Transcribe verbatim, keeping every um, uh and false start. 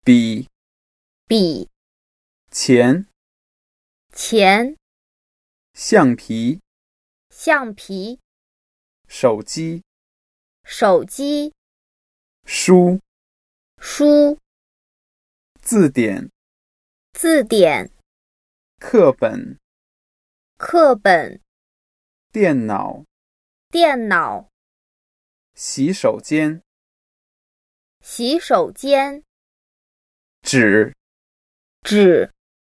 笔、 笔、 钱、 钱、 橡皮、 橡皮、 手机、 手机、 书、 书、 字典、 字典、 课本、 课本、 电脑、 电脑、 洗手间、 洗手间、 纸、 纸。